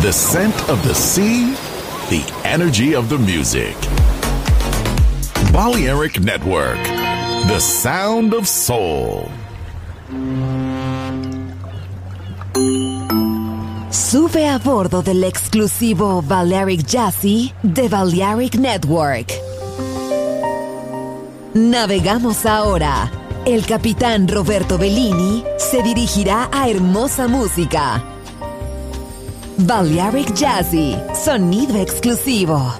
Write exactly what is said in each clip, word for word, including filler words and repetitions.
The scent of the sea, the energy of the music. Balearic Network, the sound of soul. Sube a bordo del exclusivo Balearic Jazzy de Balearic Network. Navegamos ahora. El capitán Roberto Bellini se dirigirá a hermosa música. Balearic Jazzy, sonido exclusivo.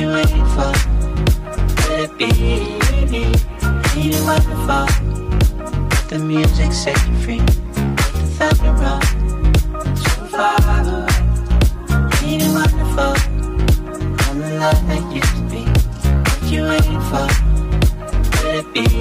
you waiting for? Could it be? Ain't it wonderful? The music set you free. The thunder roll so far away. Ain't it wonderful? I'm the love that used to be. What you waiting for? Could it be?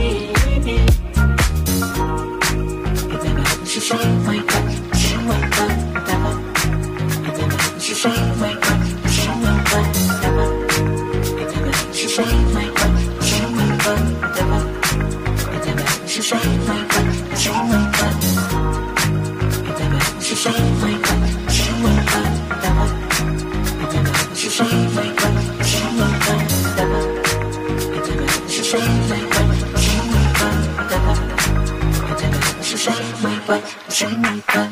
She say wake up, she wake up, never. She say wake up, she wake up, never. She say wake up, she wake up, never. She say wake up, she wake up. She say wake up, she wake up, never. She say wake up, she wake up, never. She say wake up, she wake up, never. She say wake up, she wake up.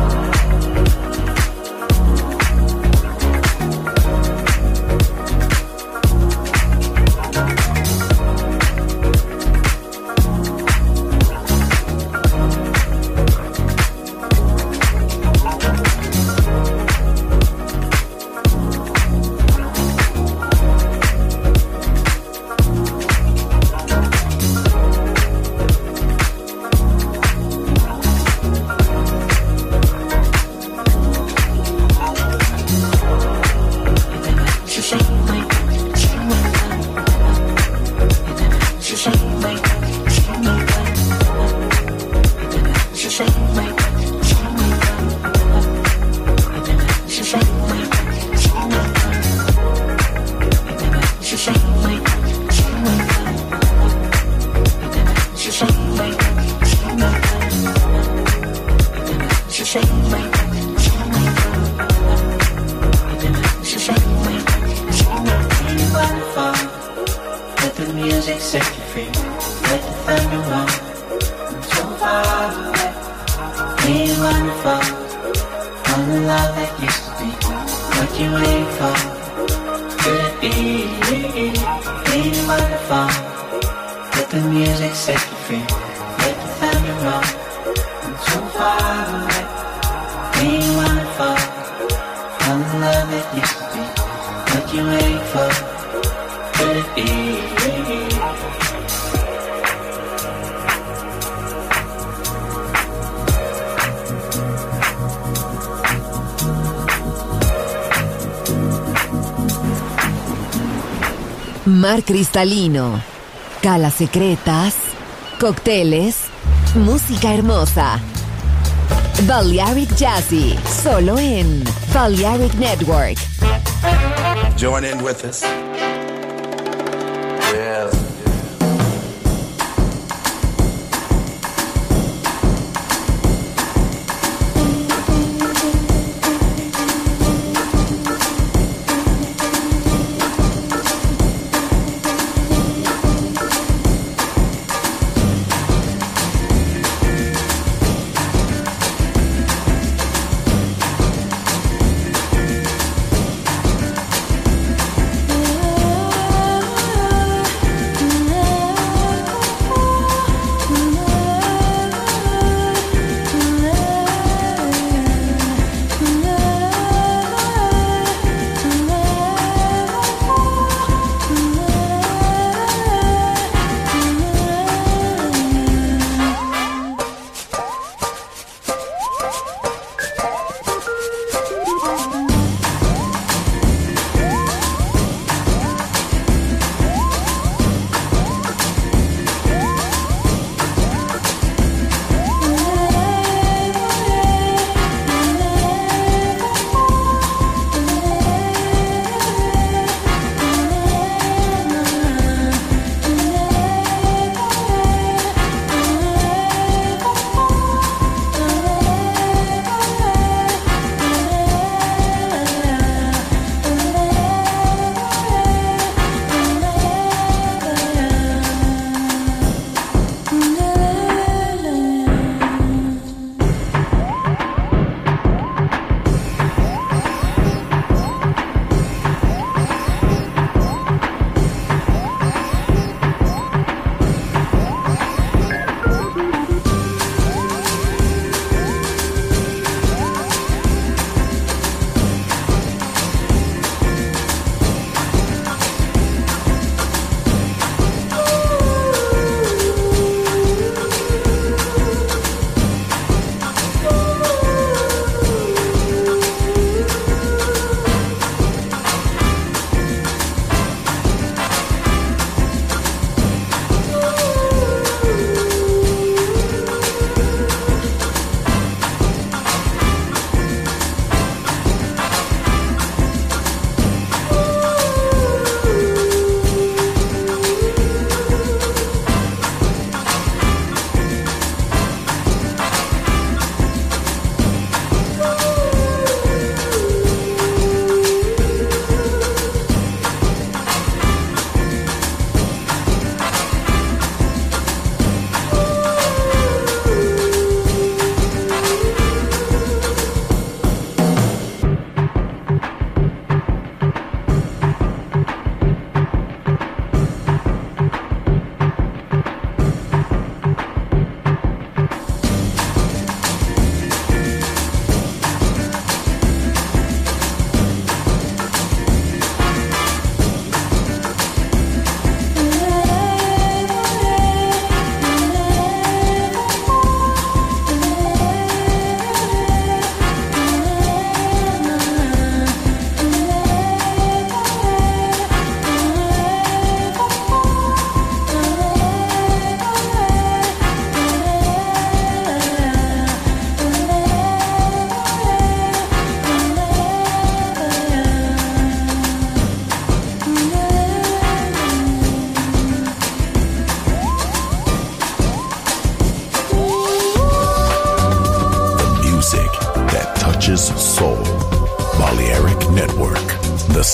Mar cristalino, calas secretas, cócteles, música hermosa. Balearic Jazzy, solo en Balearic Network. Join in with us. Yeah.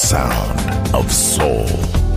sound of soul.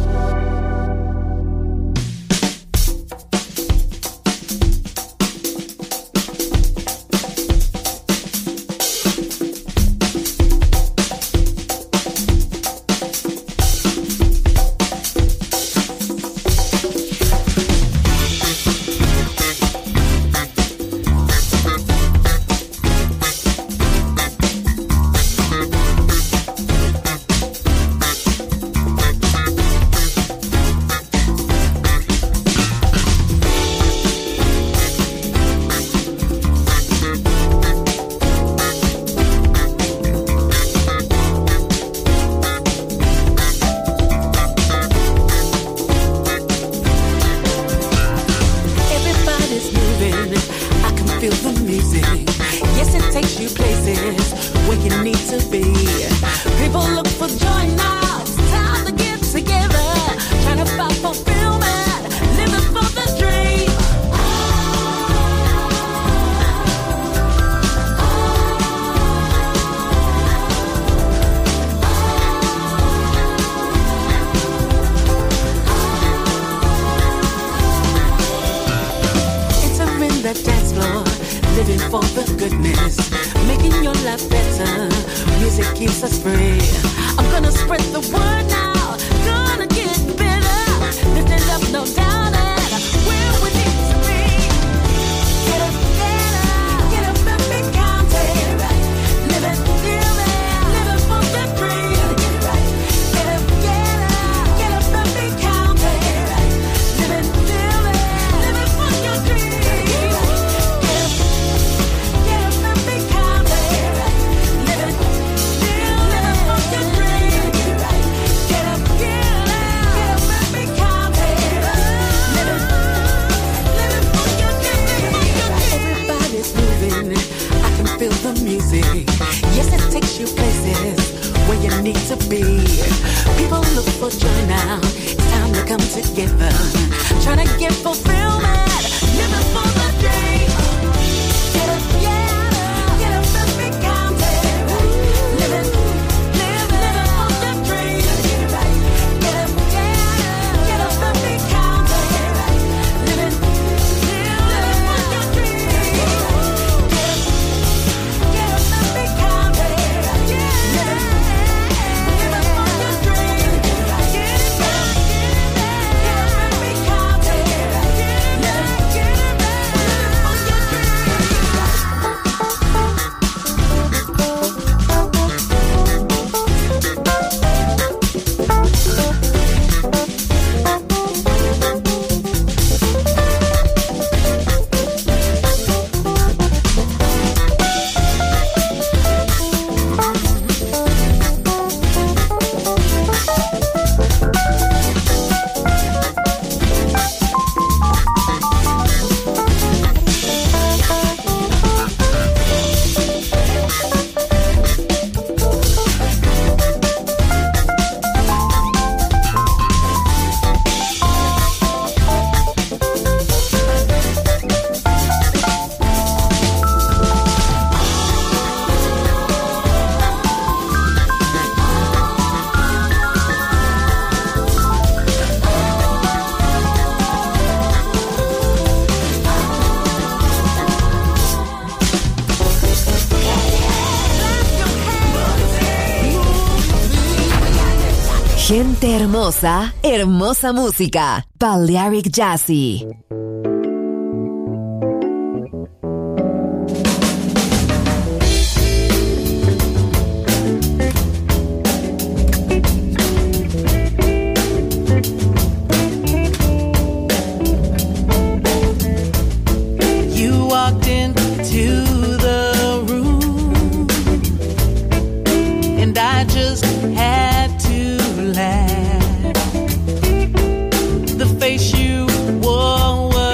Gente hermosa, hermosa música. Balearic Jazzy. The face you wore was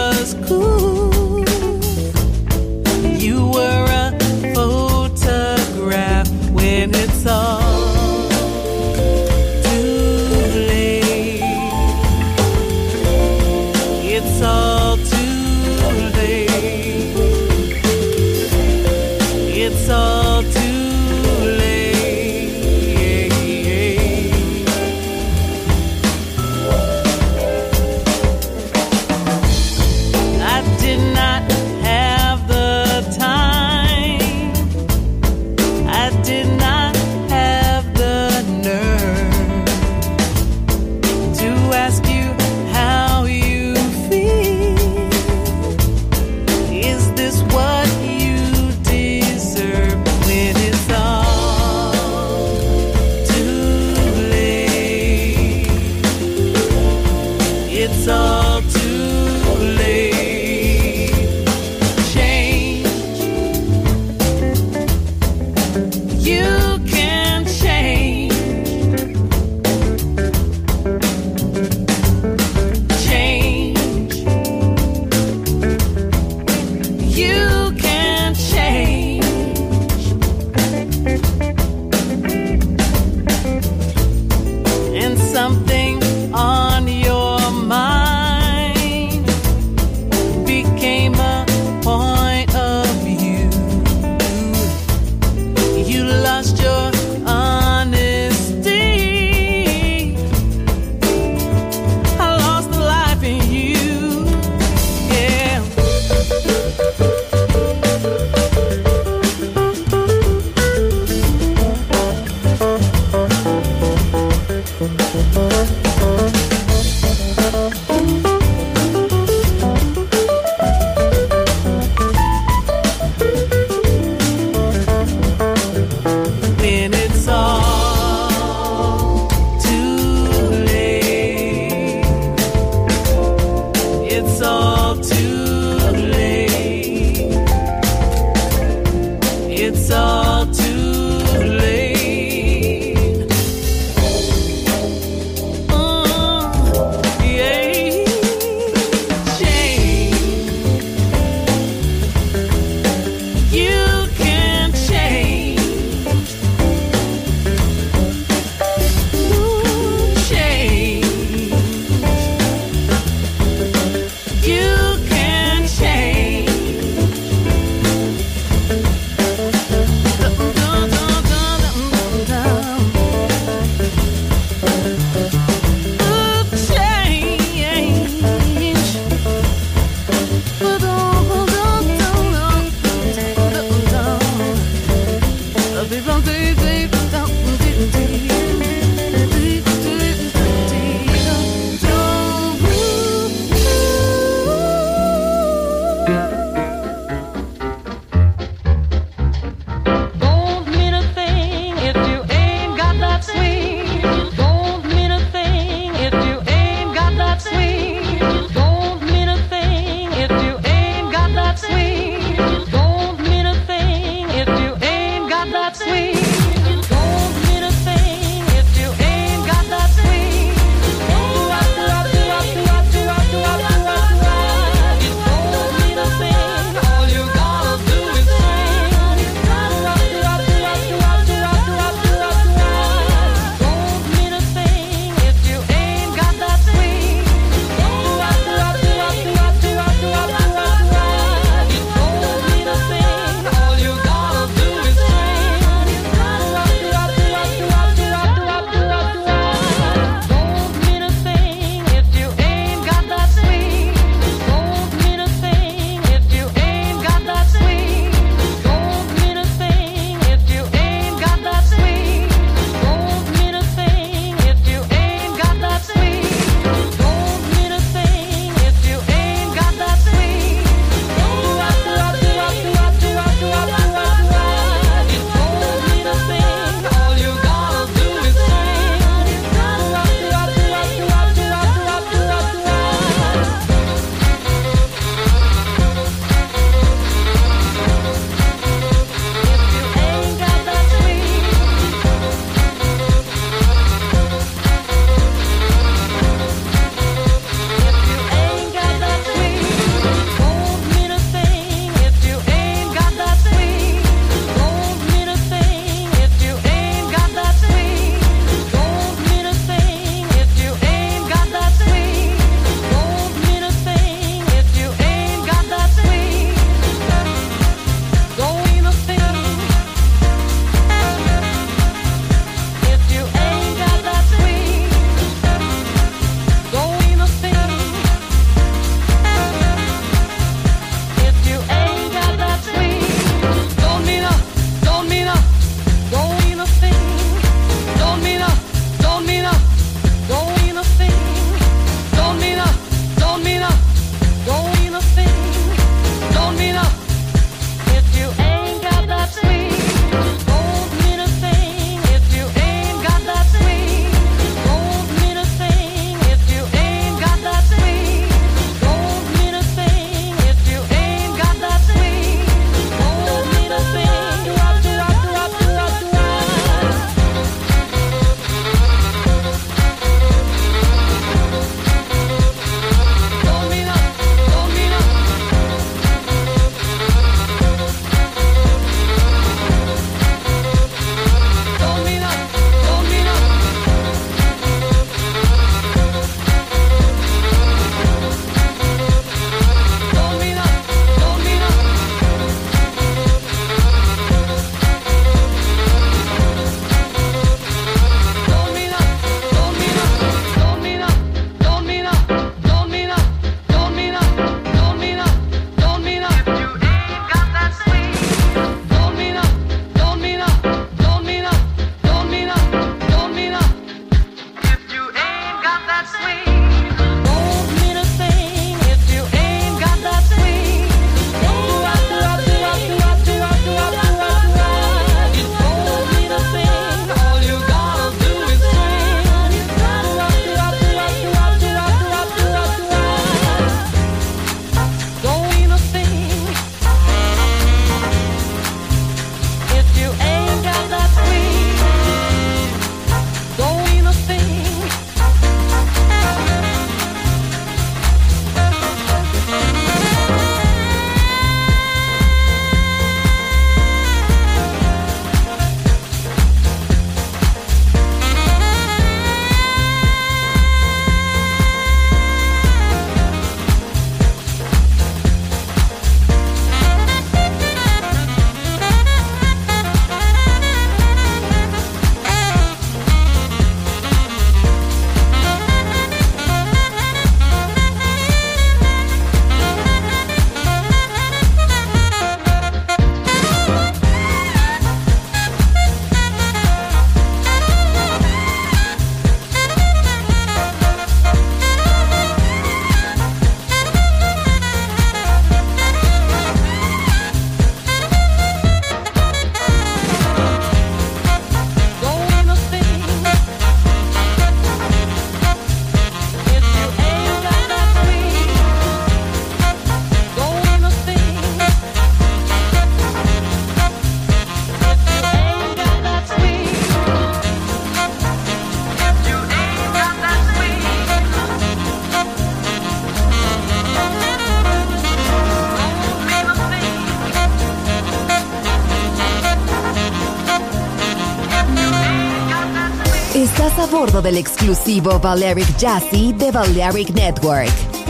Estás a bordo del exclusivo Balearic Jazzy de Balearic Network.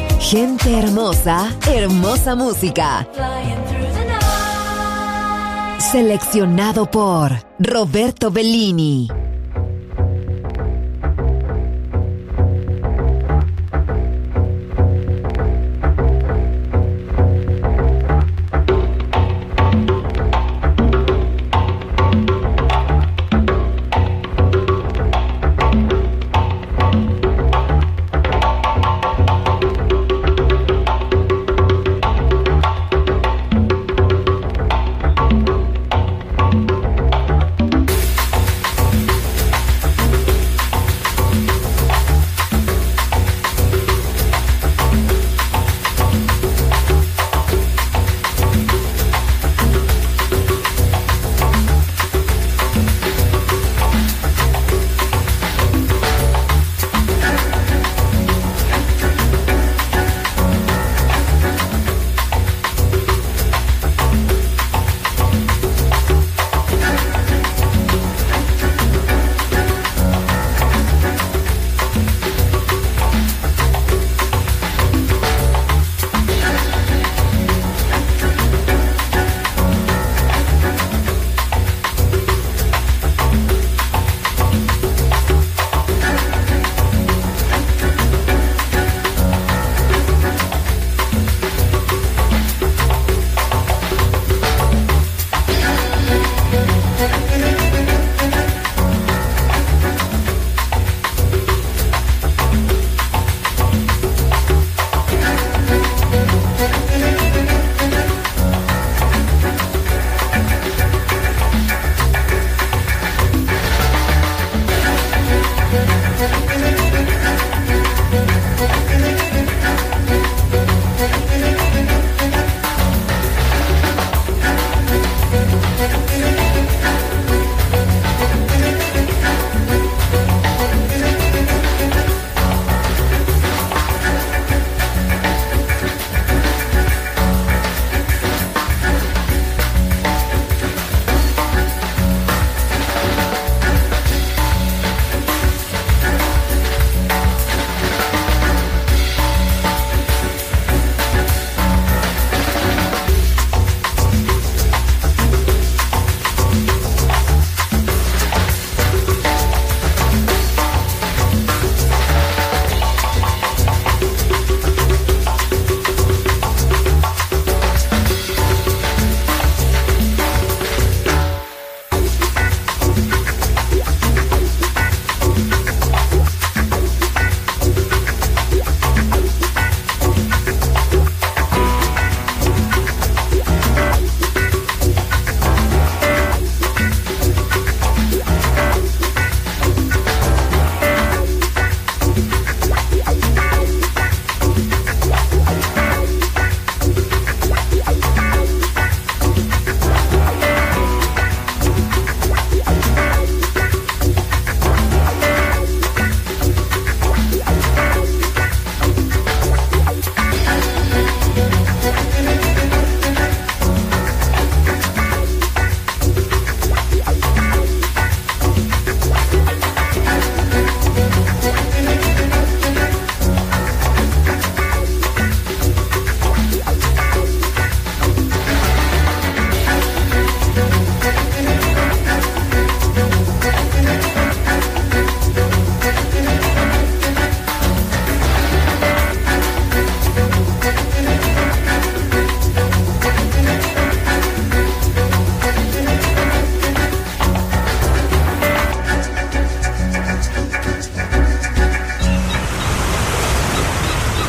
Gente hermosa, hermosa música. Seleccionado por Roberto Bellini.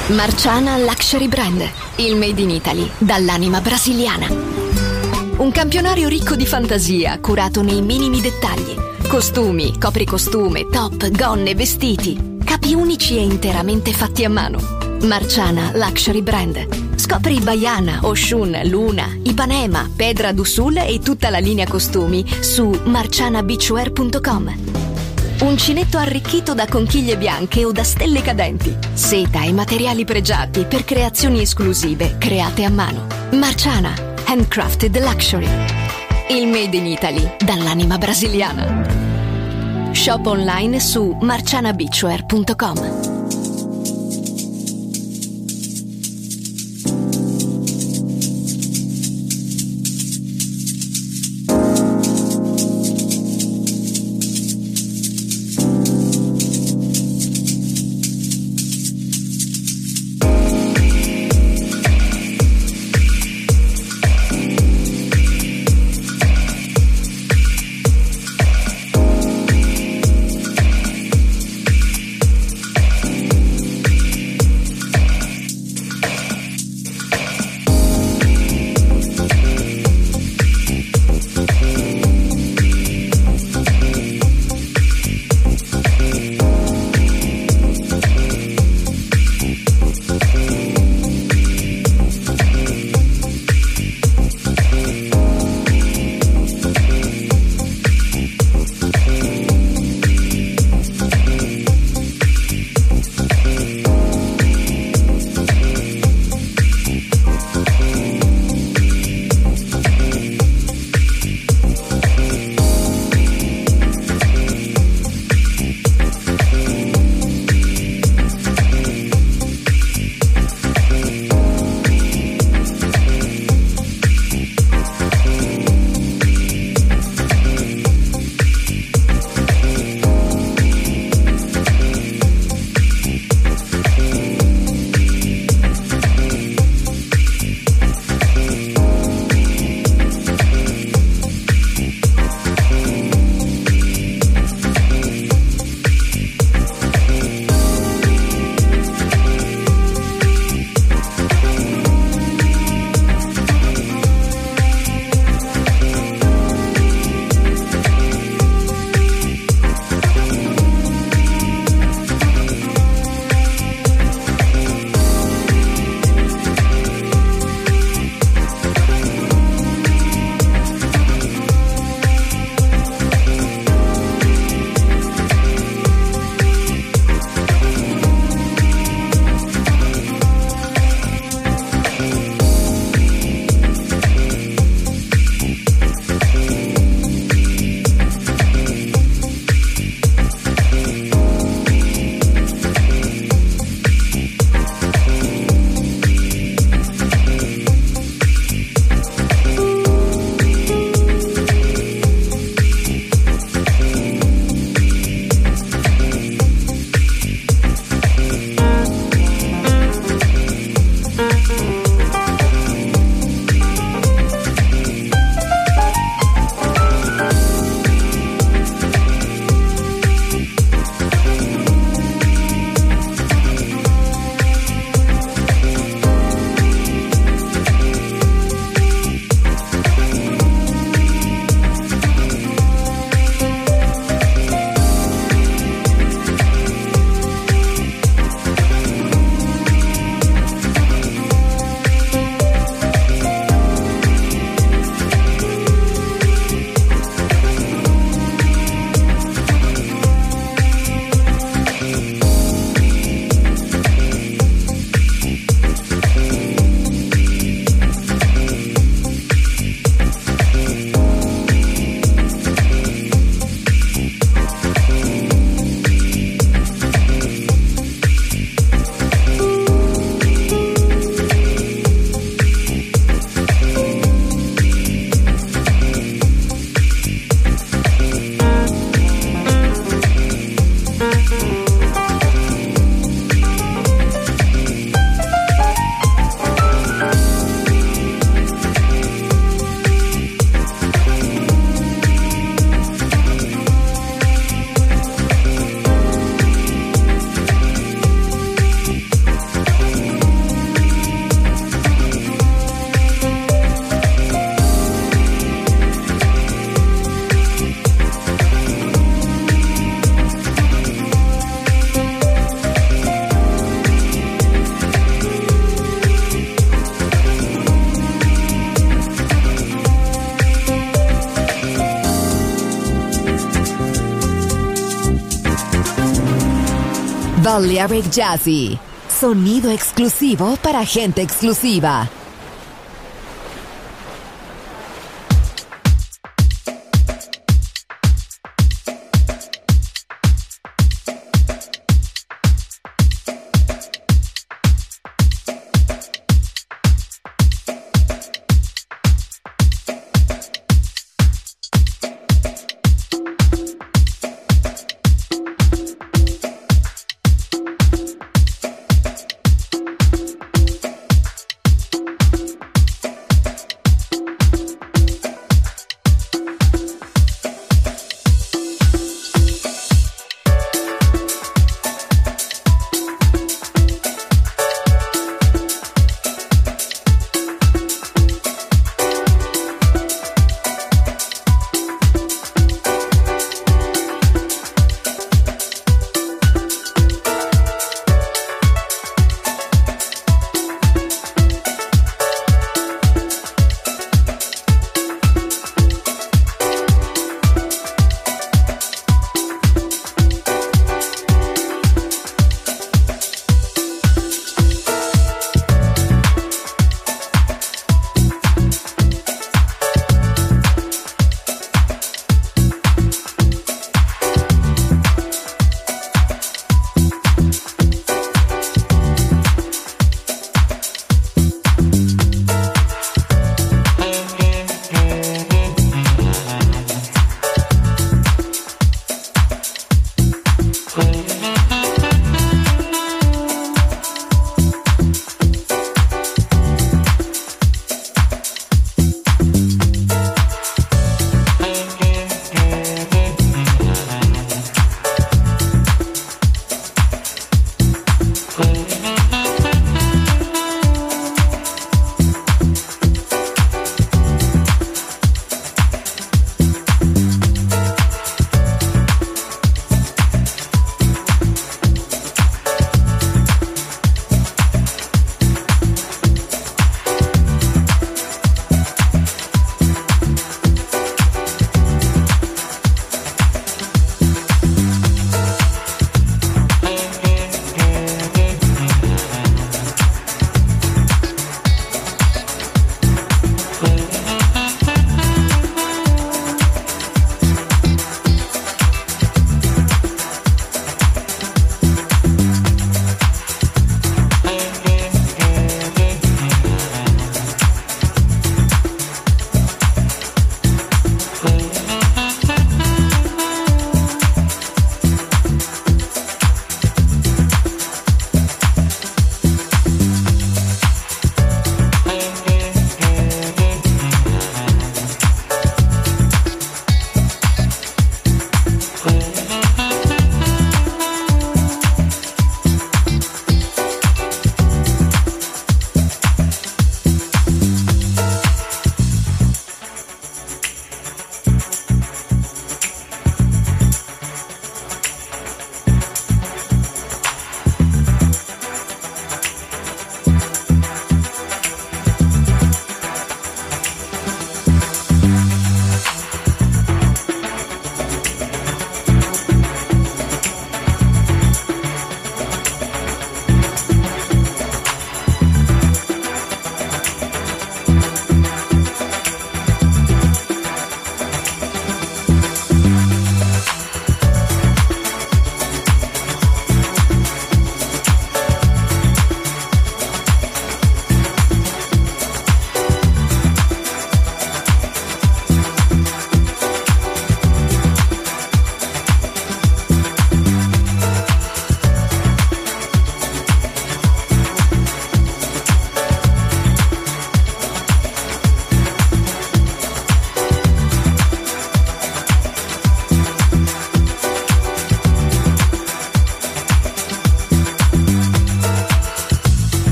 Marciana Luxury Brand, il made in Italy dall'anima brasiliana. Un campionario ricco di fantasia, curato nei minimi dettagli. Costumi, copricostume, top, gonne, vestiti. Capi unici e interamente fatti a mano. Marciana Luxury Brand. Scopri Baiana, Oshun, Luna, Ipanema, Pedra do Sul e tutta la linea costumi su marciana beachwear punto com. Uncinetto arricchito da conchiglie bianche o da stelle cadenti. Seta e materiali pregiati per creazioni esclusive create a mano. Marciana, handcrafted luxury. Il made in Italy dall'anima brasiliana. Shop online su marciana beachwear punto com. Balearic Jazzy. Sonido exclusivo para gente exclusiva.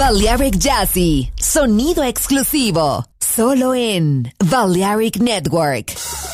Balearic Jazzy, sonido exclusivo, solo en Balearic Network.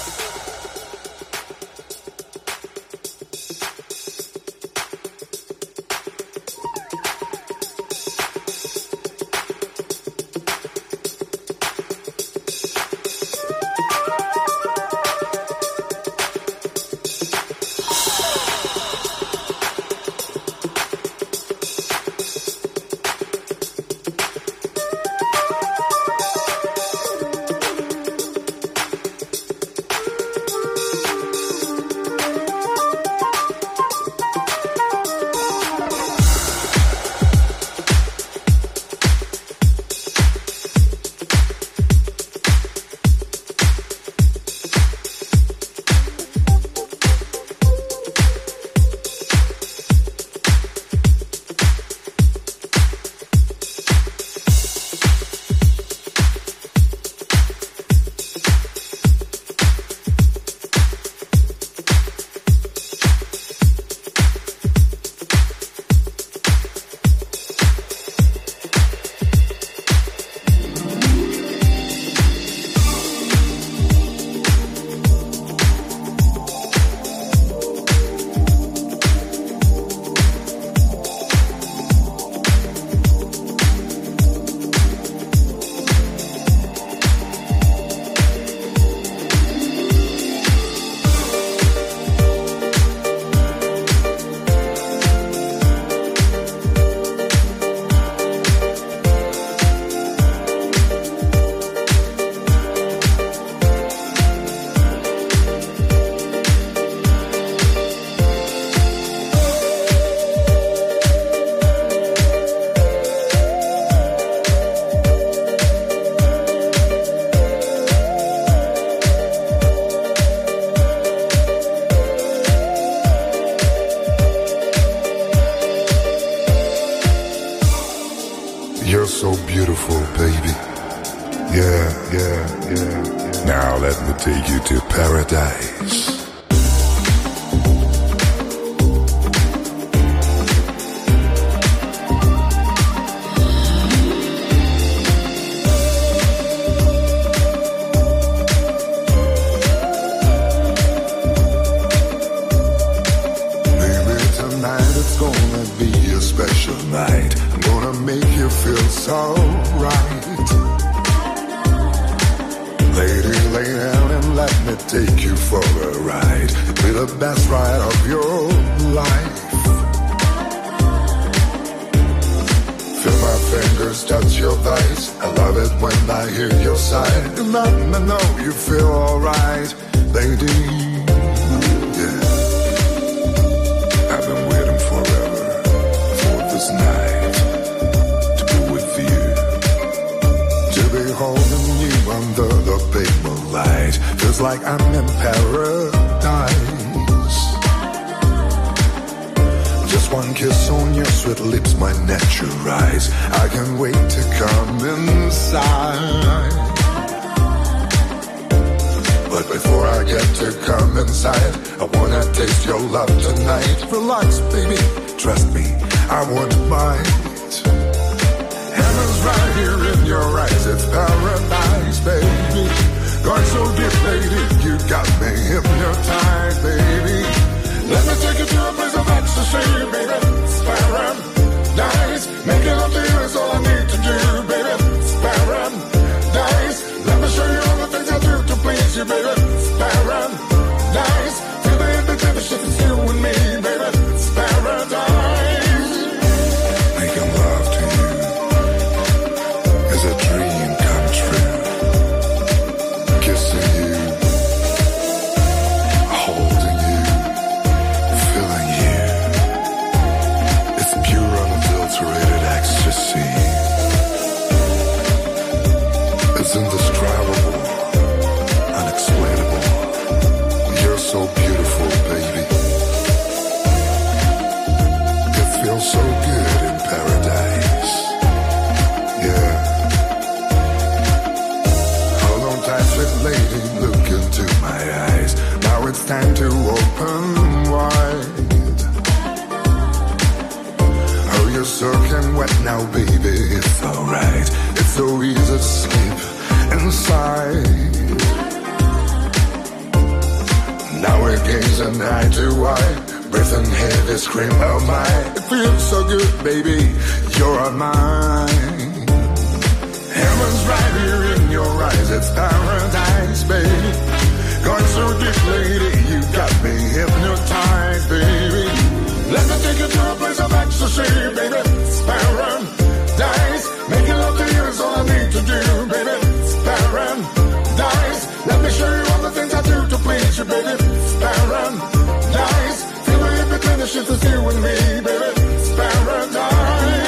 You're so beautiful, baby. Yeah, yeah, yeah, yeah. Now let me take you to paradise. Baby, tonight it's gonna be a special night. I'm gonna make you feel so right. Lady, lay down and let me take you for a ride. Be the best ride of your life. Feel my fingers touch your thighs. I love it when I hear your sigh. You let me know you feel alright, lady. Yeah, I've been waiting forever for this night to be with you, to be holding you under the big moonlight. Feels like I'm in paradise. Just one kiss on your sweet lips might net your eyes. I can't wait to come inside. But before I get to come inside, I wanna taste your love tonight. Relax, baby, trust me, I won't bite. Heaven's right here in your eyes, it's paradise, baby. Going so deep, lady, you got me hypnotized, baby. Let me take you to a place of ecstasy, baby. It's paradise. Making love to you is all I need to do, baby. It's paradise. Let me show you all the things I do to please you, baby. It's paradise. Feel the invitation, it's you and me, baby. It's paradise. Making love to you is a dream come true. Kissing you, holding you, feeling you. It's pure, unadulterated ecstasy. It's indescribable, unexplainable. You're so beautiful, baby. It feels so good in paradise. Yeah. Hold on tight, sweet lady, look into my eyes. Now it's time to open wide. Oh, you're soaking wet now, baby. It's nothing heavy scream of mine. It feels so good, baby, you're mine. Heaven's right here in your eyes, it's paradise, baby. Going so deep, lady, you got me hypnotized, baby. Let me take you to a place of ecstasy, baby. It's paradise. Making love to you is all I need to do, baby. It's paradise. Let me show you all the things I do to please you, baby. It's paradise. Feel the in between the shit that's you and me, baby. It's paradise.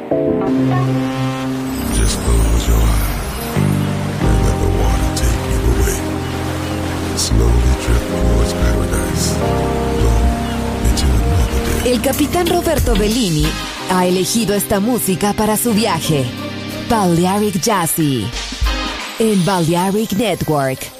Just close your eyes and let the water take you away. Slowly drift towards paradise. Blow into another day. El capitán Roberto Bellini ha elegido esta música para su viaje. Balearic Jazzy en Balearic Network.